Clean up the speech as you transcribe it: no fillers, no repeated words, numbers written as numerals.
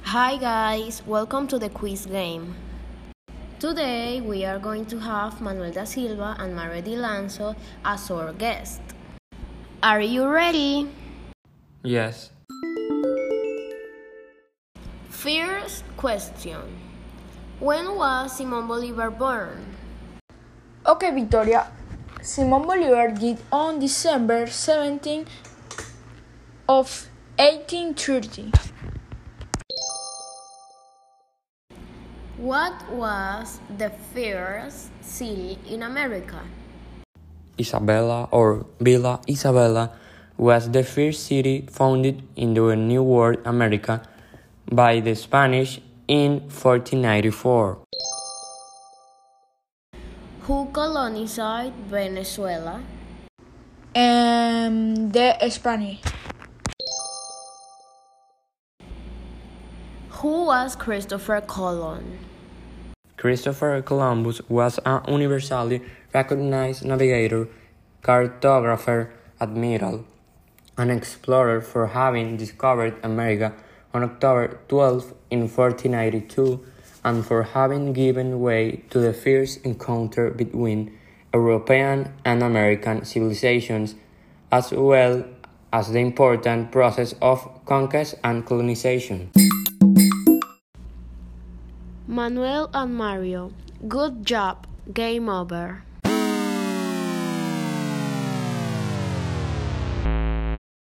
Hi guys, welcome to the quiz game. Today we are going to have Manuel da Silva and Mario Di Lanzo as our guests. Are you ready? Yes. First question. When was Simón Bolívar born? Okay, Victoria. Simón Bolívar died on December 17 of 1830. What was the first city in America? Isabella or Villa Isabella was the first city founded in the New World America by the Spanish in 1494. Who colonized Venezuela? The Spanish. Who was Christopher Colon? Christopher Columbus was an universally recognized navigator, cartographer, admiral, and explorer for having discovered America on October 12 in 1492 and for having given way to the first encounter between European and American civilizations, as well as the important process of conquest and colonization. Manuel and Mario, good job. Game over.